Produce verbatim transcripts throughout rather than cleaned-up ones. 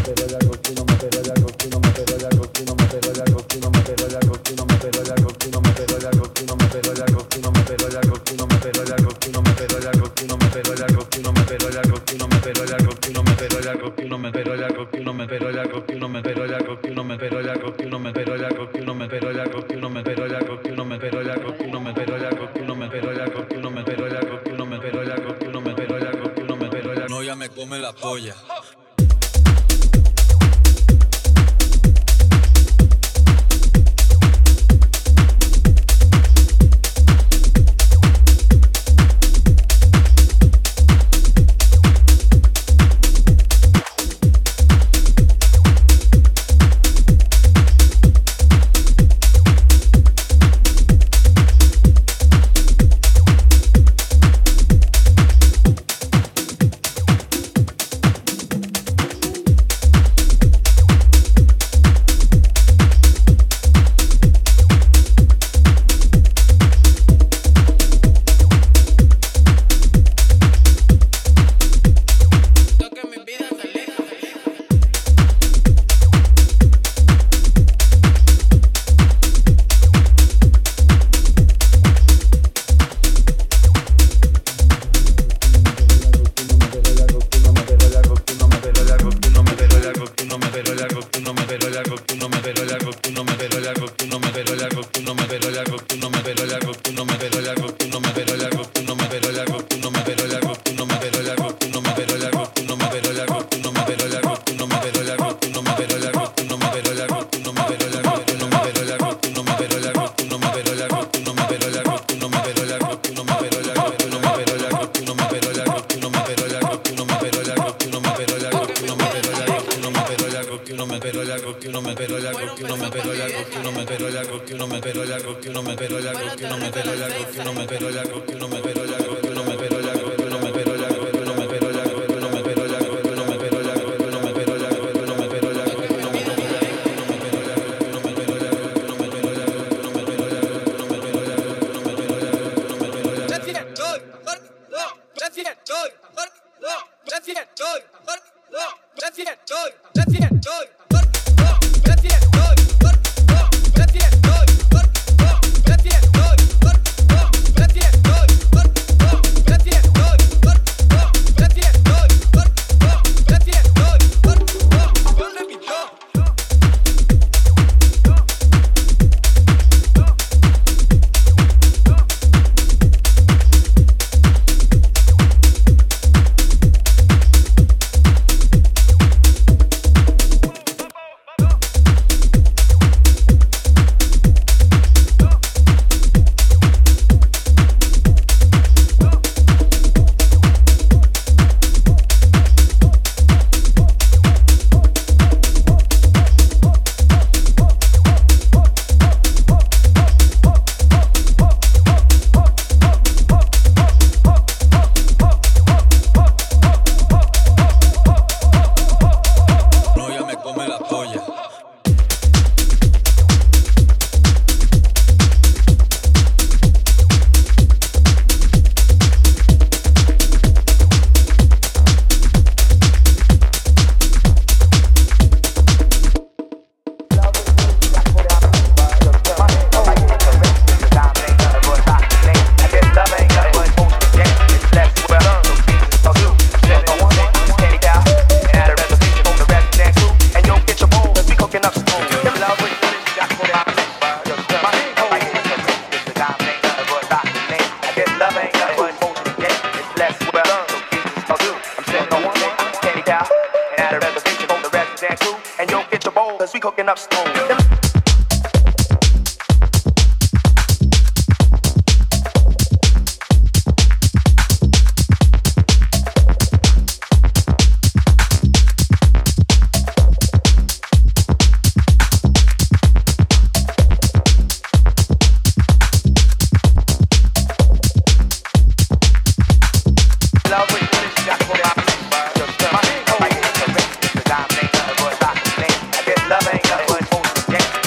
Love ain't nothing but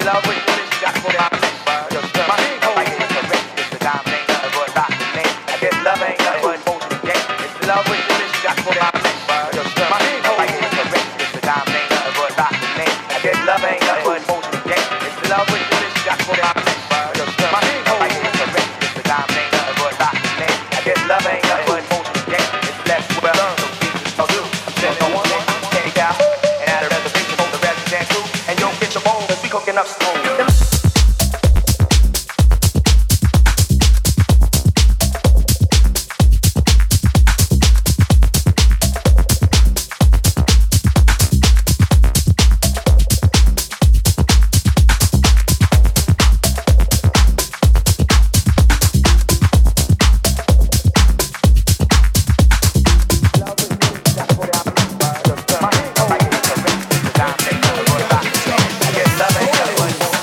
love with you, you got to put out your stuff. My name is correct, it's the diamond ain't nothing but rock the name. I guess love ain't nothing but motion game. It's love with you, you got to put out your stuff. My name is correct, it's the diamond ain't nothing but rock the name. I guess love ain't nothing but motion game. It's love with you, you got to put out your stuff. My name is correct, it's the diamond ain't nothing but rock the name. I guess love ain't nothing but motion game. It's less well learned, so Jesus will do. I'm sending one more take out and add a reservation for the resident crew. And yo, get your bowl, cause we cooking up smooth. Love ain't nothing but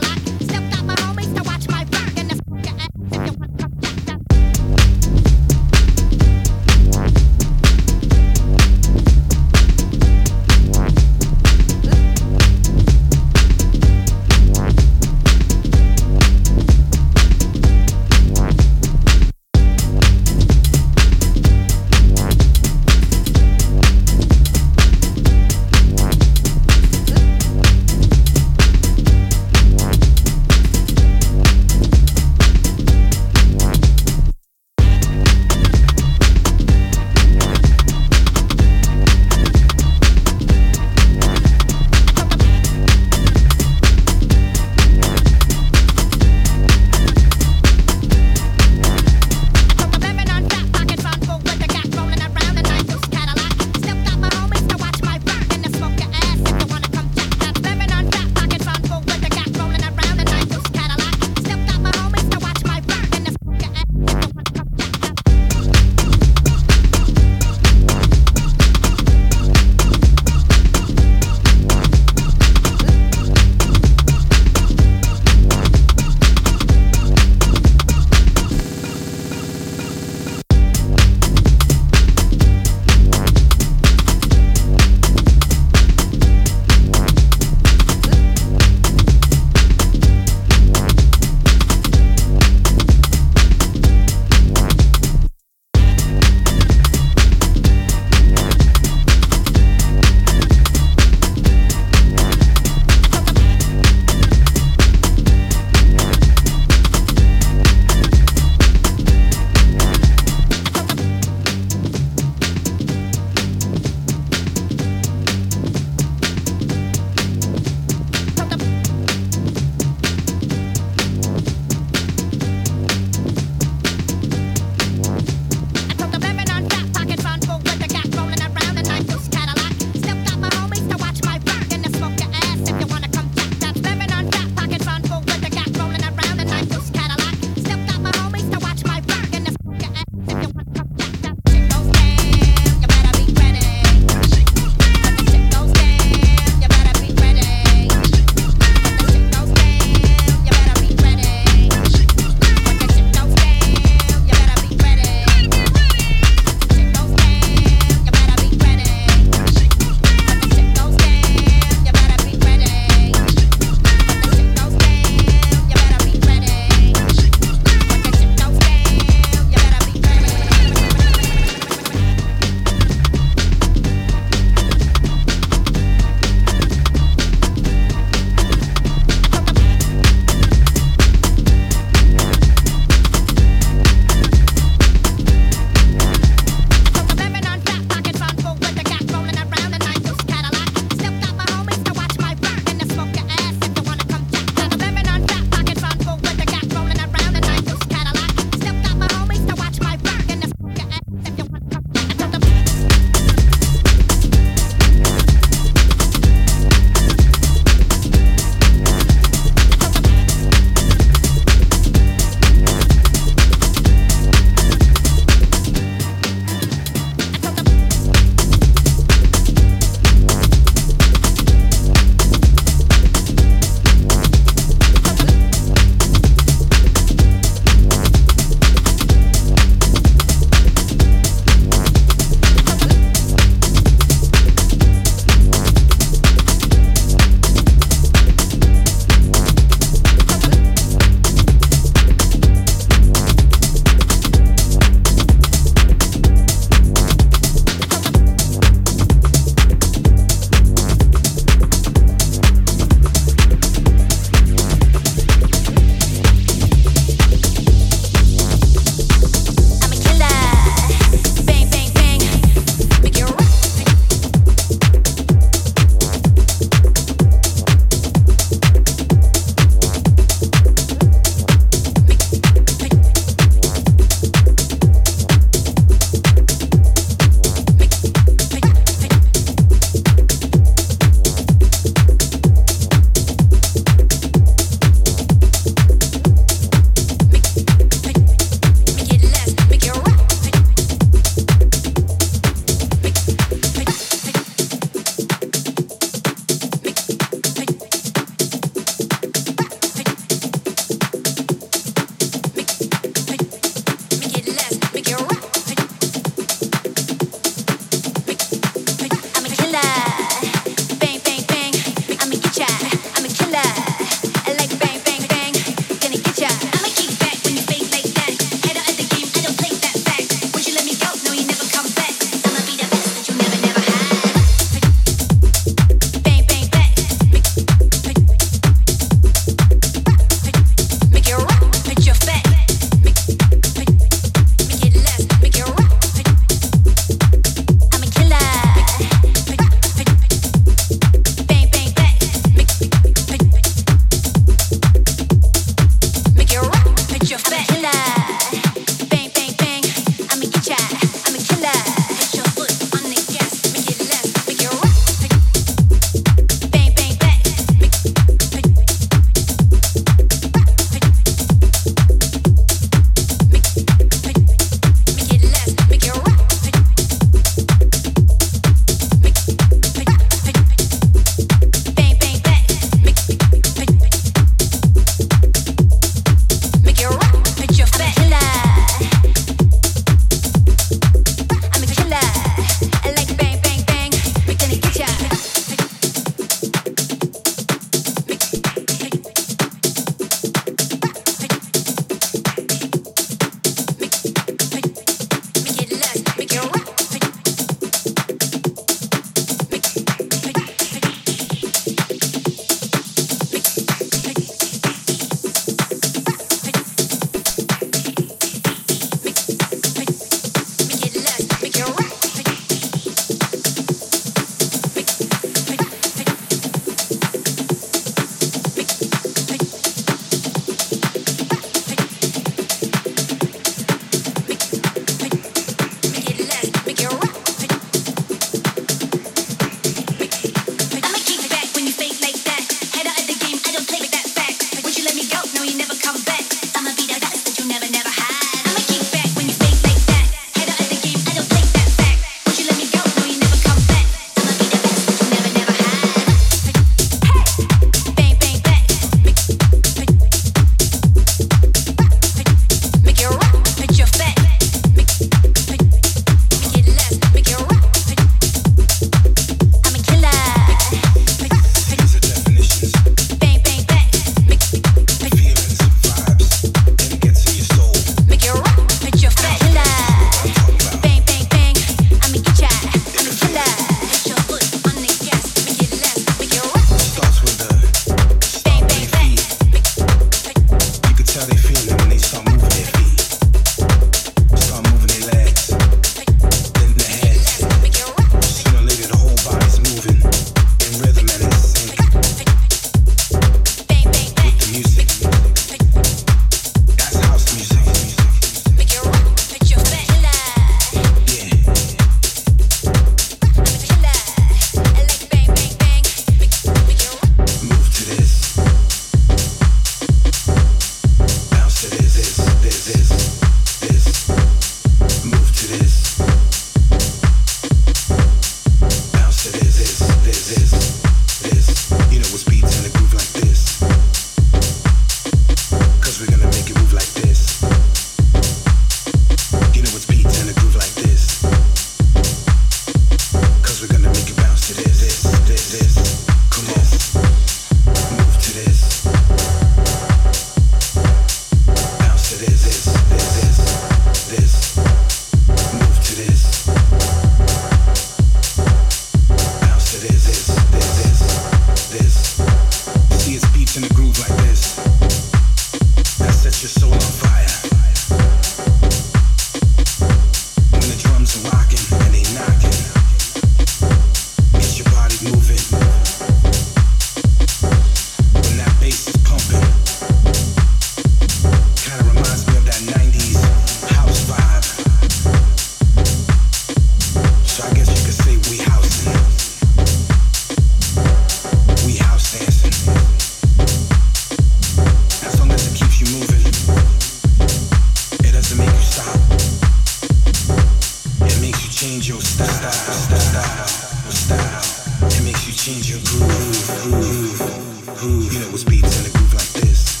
change your groove, groove, groove. You know what's beats in a groove like this.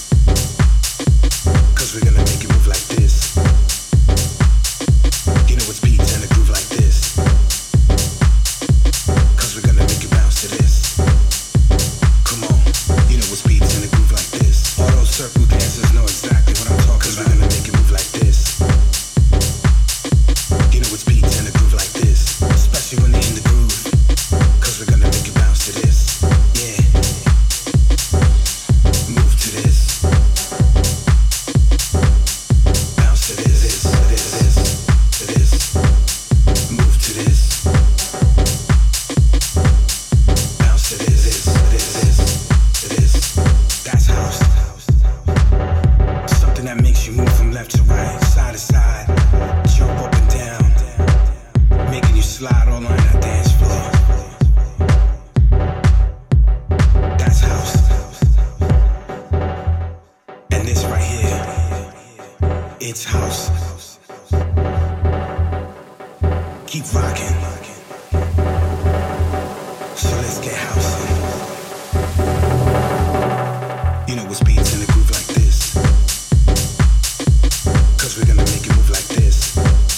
Cause we're gonna make it move like this. You know what's beats in a groove like this. Cause we're gonna make it bounce to this. Come on, you know what's beats in a groove like this. All those circle dancers know exactly what I'm talking about. Cause we're gonna make it move like this. You know what's beats in a groove like this. Especially when they're in the groove. Cause we're gonna make it bounce to this. Yeah. Move to this. Bounce to this, this, this, this, to this. Move to this. Bounce to this, this, this, this, to this. That's house. Something that makes you move from left to right, side to side, jump up and down, making you slide all on that dance floor. That's house. And this right here, it's house. Keep rocking. So let's get housing. You know what's beats in the groove like this. Cause we're gonna make it move like this.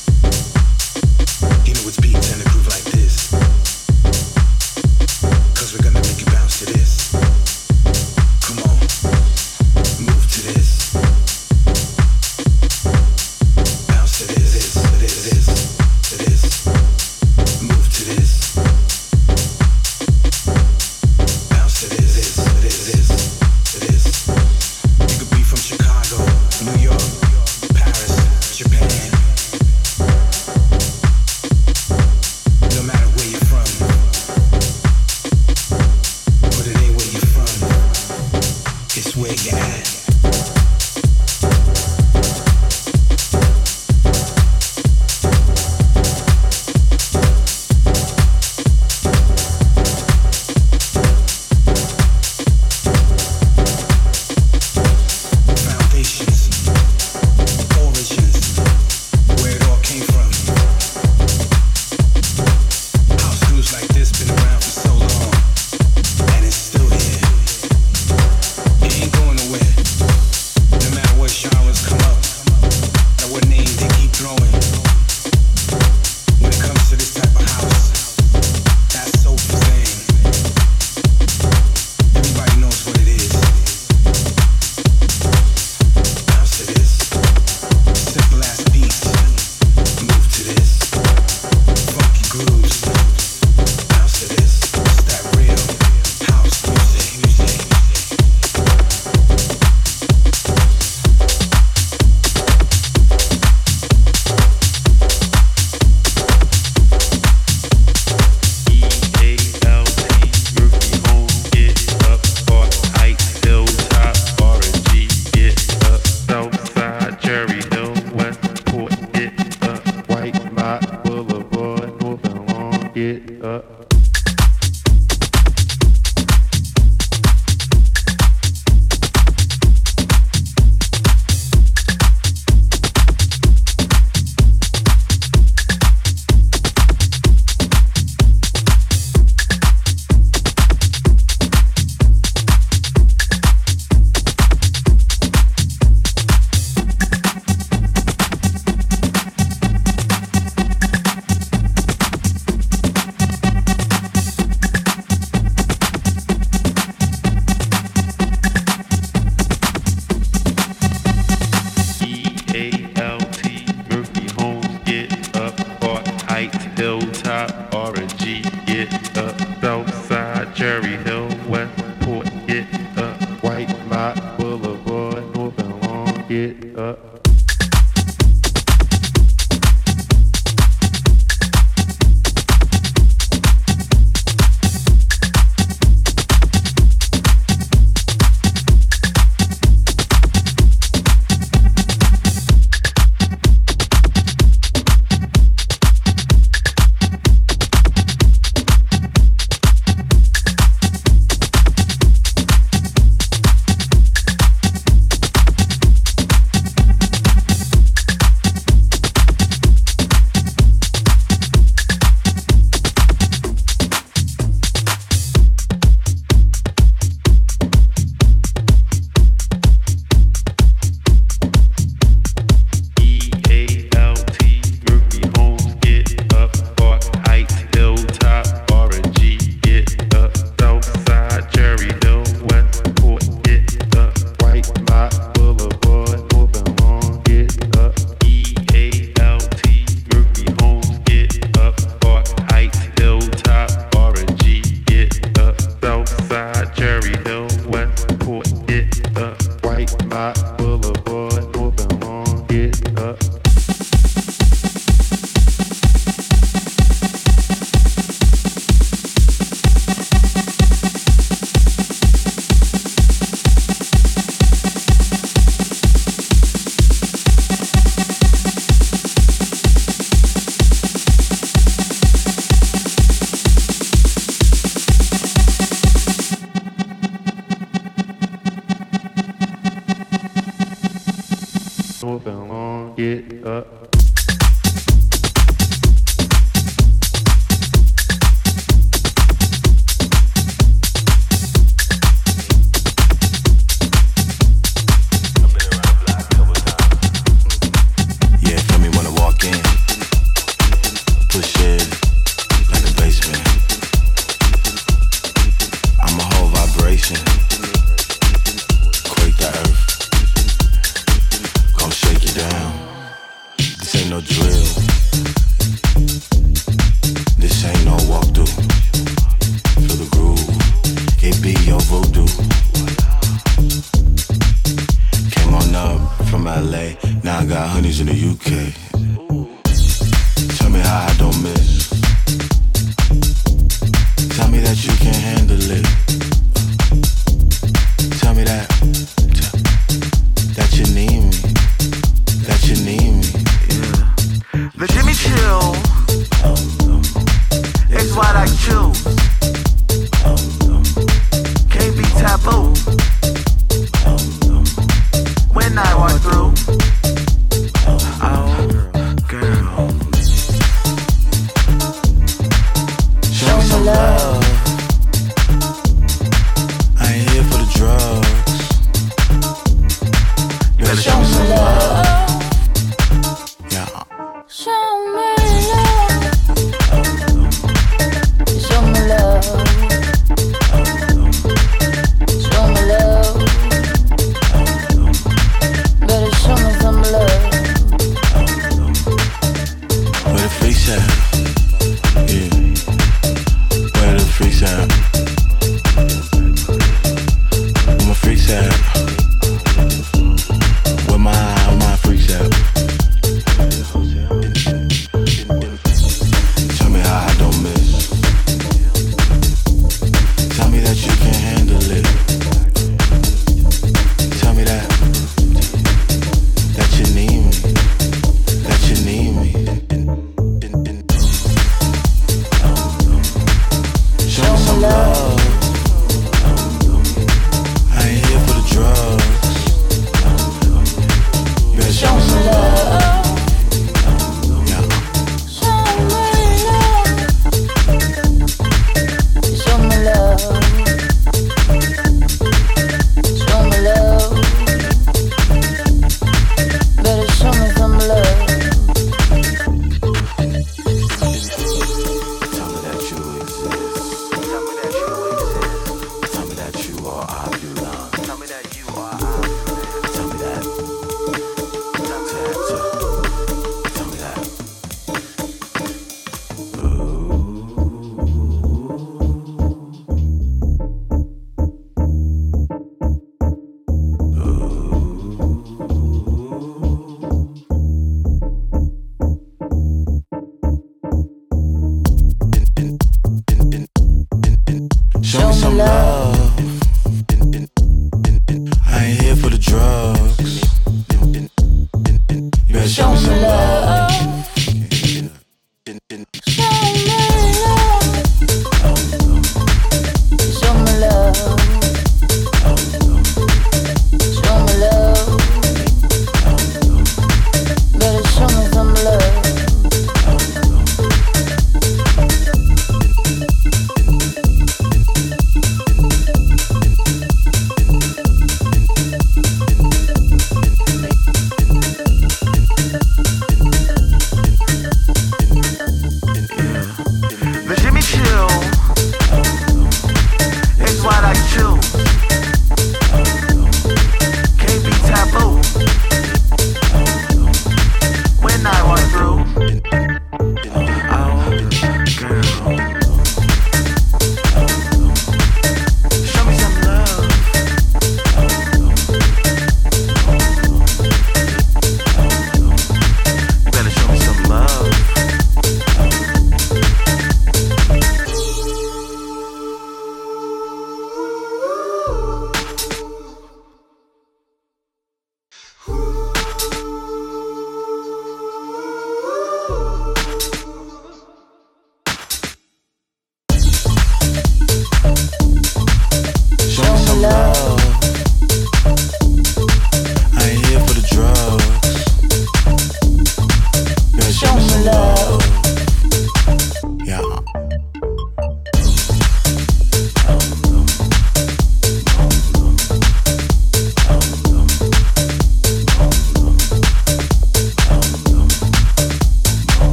You know what's beats in the groove like this. Cause we're gonna make it bounce to this. Come on, move to this. Bounce to this, this, to this, this, to this. Move to this. Bounce to this, this, to this, this, to this. You could be from Chicago, New York, Paris, Japan. No matter where you're from, but it ain't where you're from, it's where you're at. Foundations, origins, where it all came from. House grooves like this been around for so long, and it's still here. It ain't going nowhere. No matter what genres come up, or what name they keep throwing. When it comes to this type of house, that soulful thing, everybody knows what it is. Bounce to this. Simple ass beats. Move to this. Funky grooves. Bounce to this. It's that real house music. music. Get up. Hilltop, R and G, get up. Southside, Cherry Hill, Westport, get up. White Lot Boulevard, North and Long, get up. north and long, get up.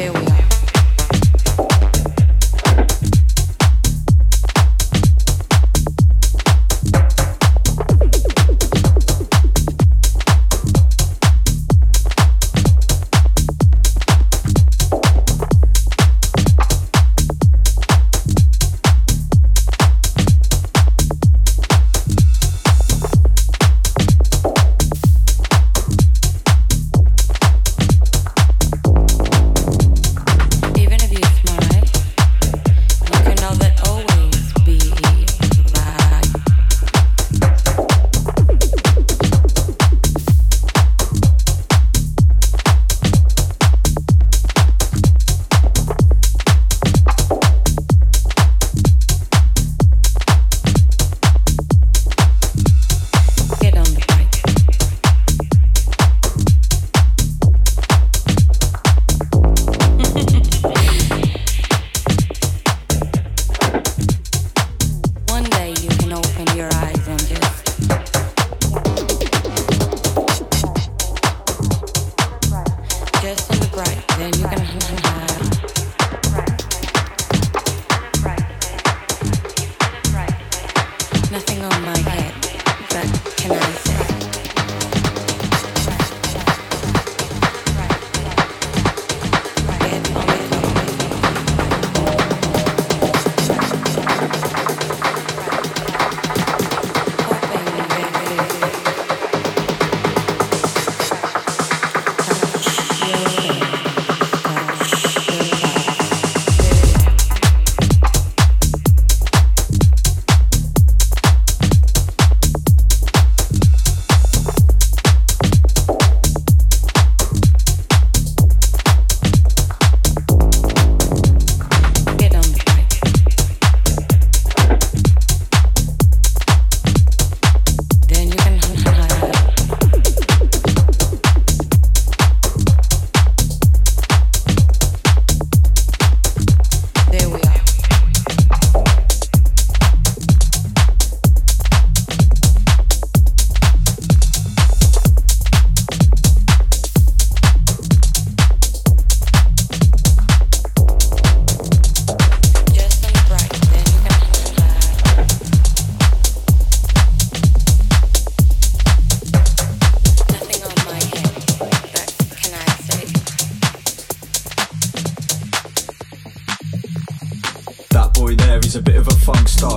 He's a bit of a funk star.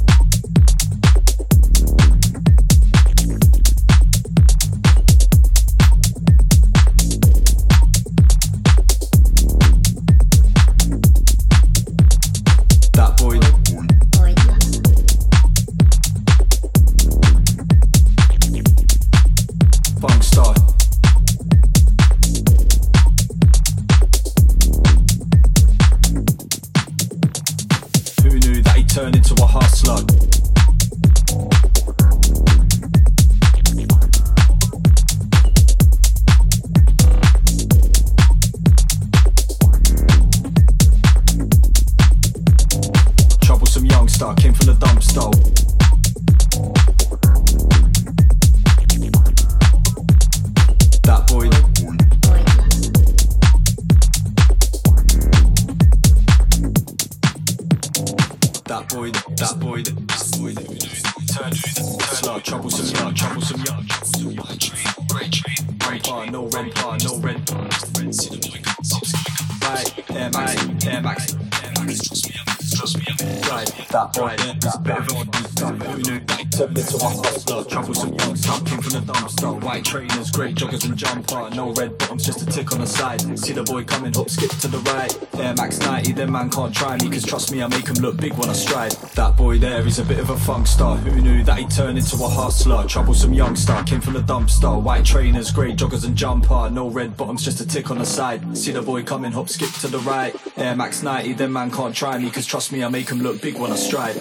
That boy. Funk star. Who knew that he'd turn into a hustler? Troublesome youngster, came from the dumpster. That boy. That boy, that boy, that boy, turn slug, troublesome young, troublesome young, great train, great train, no red bar, no red bar. Right, Air Max, Air Max, trust me, trust me, right, that boy, that bit of a who knew that turned into a hustler, troublesome young stuff, came from the dumpster, white trainers, great joggers and jumper, no red bottoms, just a tick on the side, see the boy coming, hop, skip to the right, Air Max ninety, them man can't try me, cause trust me, I make him look big when I stride, that boy there, he's a bit of a funk star, who knew that he'd turn into a hustler, troublesome youngster, came from the dumpster, white trainers, great joggers and jumper, no red bottoms, just a tick on the side, see the boy coming, hop, skip to the right, Air Max ninety, them man can't try me, cause trust me, I make him look big when I stride.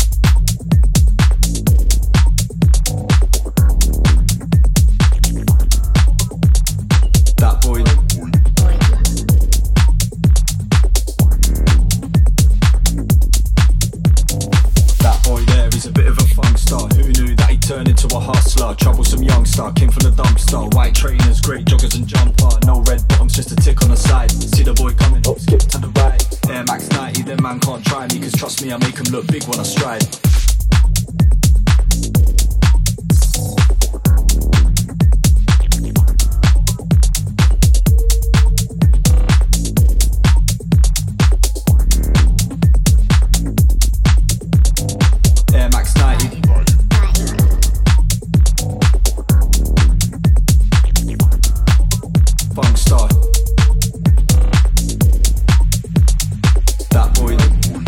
That boy. That boy there, he's a bit of a funk star. Who knew that he'd turn into a hustler? Troublesome youngster, came from the dumpster. White trainers, great joggers and jumper. No red bottoms, just a tick on the side. See the boy coming. Trust me, I make them look big when I stride. Air Max ninety. Funk star. That boy.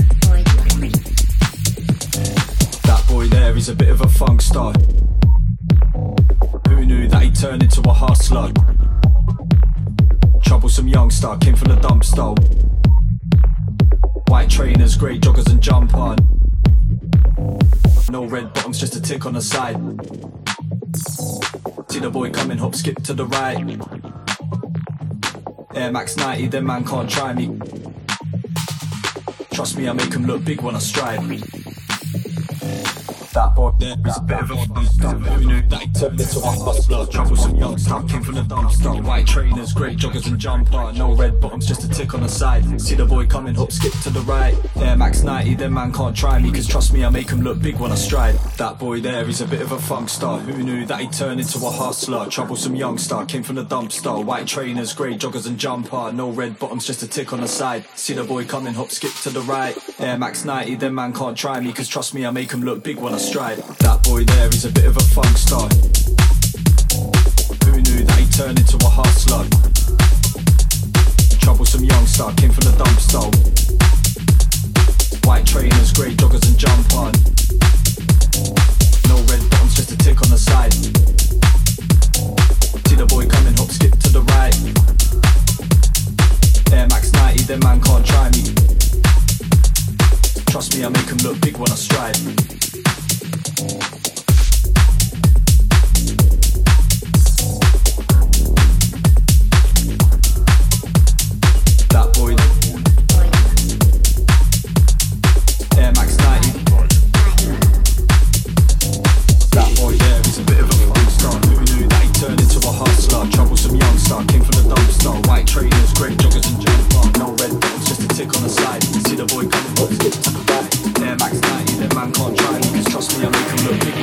That boy there is a bit of a funk star. Who knew that he'd turn into a hustler? Troublesome youngster, came from the dumpster. White trainers, grey joggers and jump on. No red bottoms, just a tick on the side. See the boy coming, hop, skip to the right. Air Max ninety, then man can't try me. Trust me, I make him look big when I stride. That boy there is a bit of a monster. Who knew that he turned into a hustler? Troublesome youngster, came from the dumpster. White trainers, grey joggers and jumper. No red bottoms, just a tick on the side. See the boy coming, hop, skip to the right. Air Max ninety, then man can't try me. Cause trust me, I make him look big when I stride. That boy there is a bit of a funk star. Who knew that he turned into a hustler? Troublesome youngster, came from the dumpster. White trainers, grey joggers and jumper. No red bottoms, just a tick on the side. See the boy coming, hop, skip to the right. Air Max ninety, then man can't try me. Cause trust me, I make him look big when I stride. That boy there is a bit of a funk star. Who knew that he turned into a hustler? Troublesome youngster, came from the dumpster. White trainers, grey joggers and jump on. No red bottoms, just a tick on the side. See the boy coming, hop, skip to the right. Air Max ninety, then man can't try me. Trust me, I make him look big when I stride. That boy. Air Max ninety. That boy there is a bit of a funk star. Who knew that he turned into a hustler? Troublesome youngster, came from the dumpster. White trainers, grey joggers and jumper. No red buttons, just a tick on the side. See the boy coming, hop, skip to the right. Air Max ninety, then man can't try me. Cause trust me, I make him look big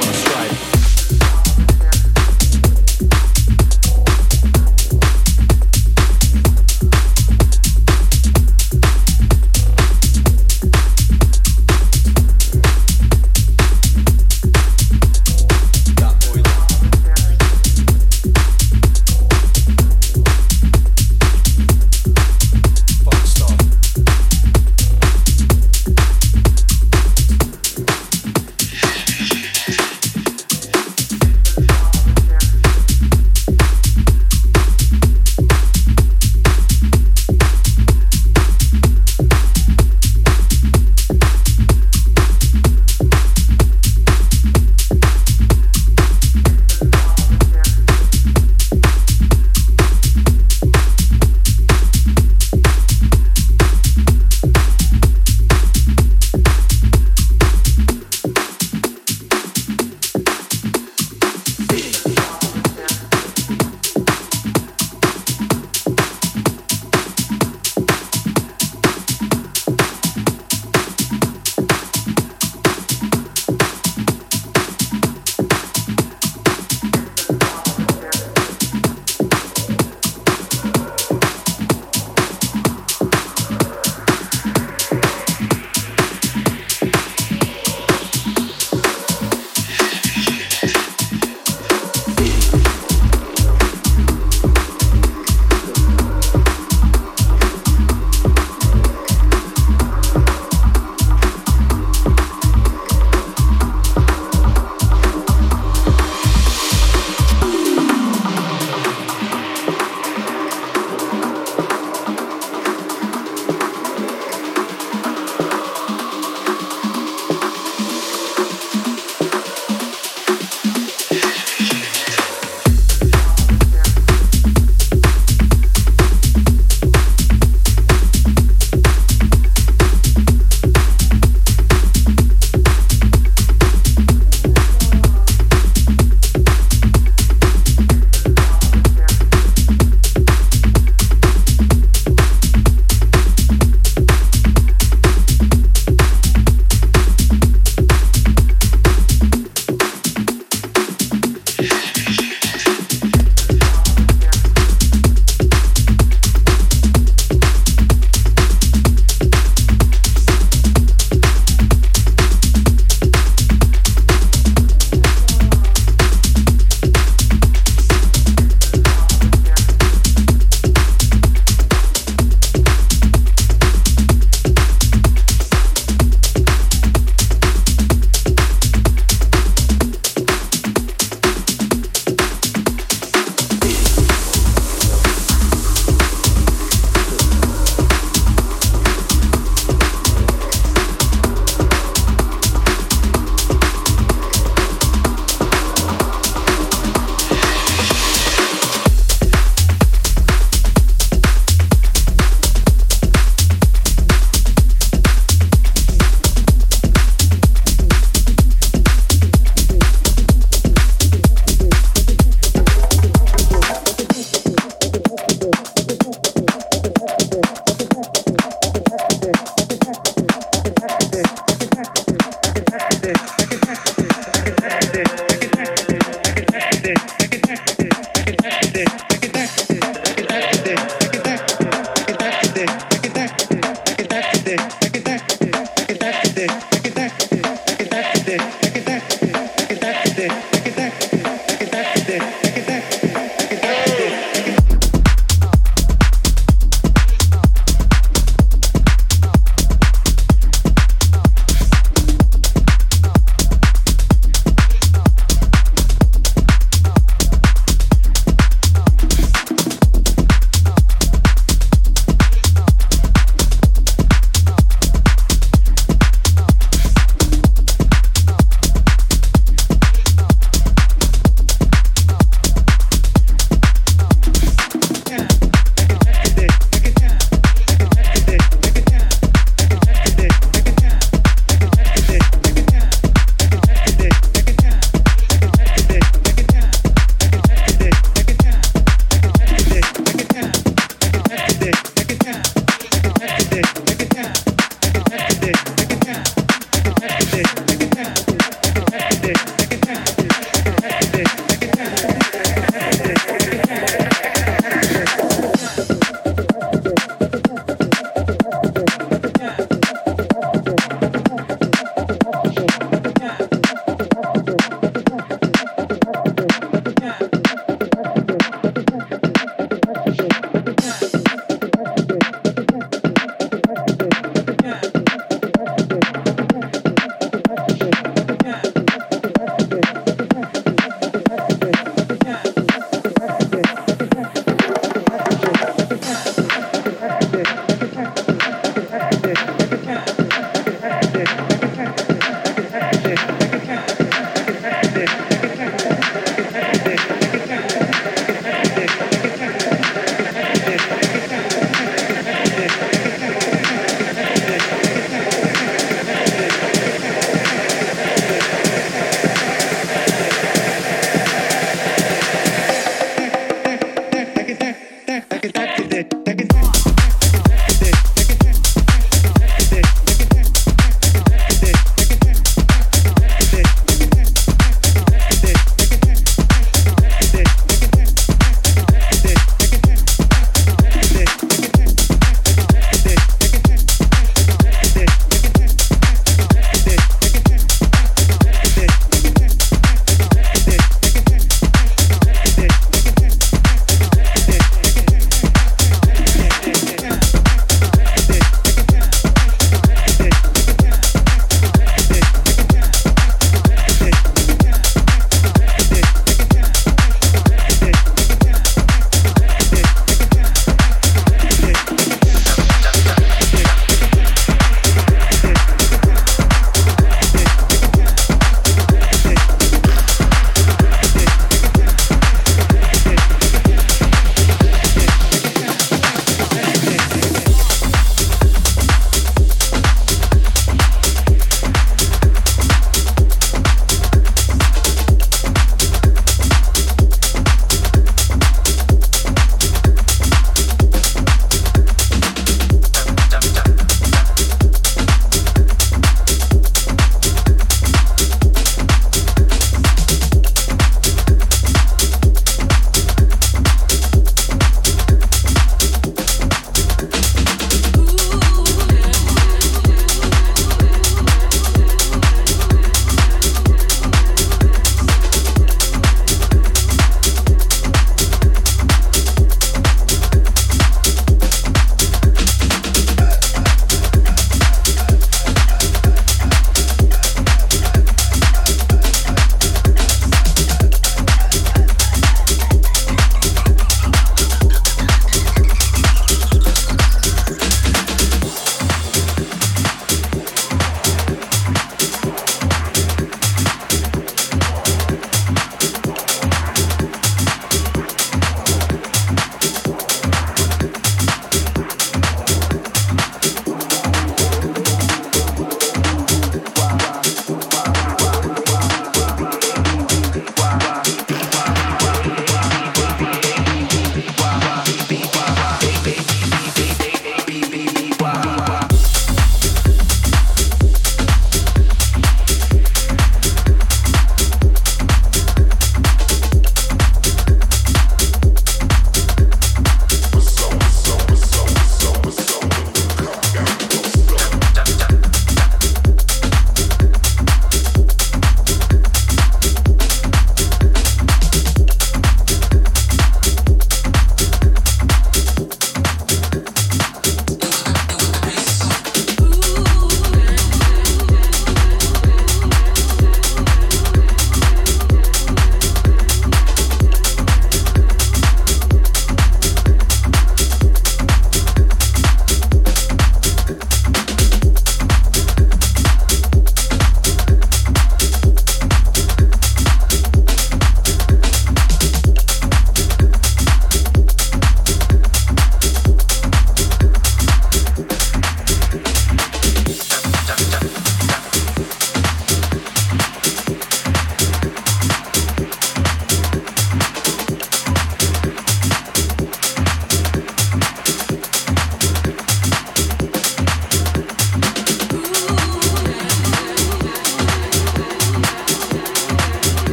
shit.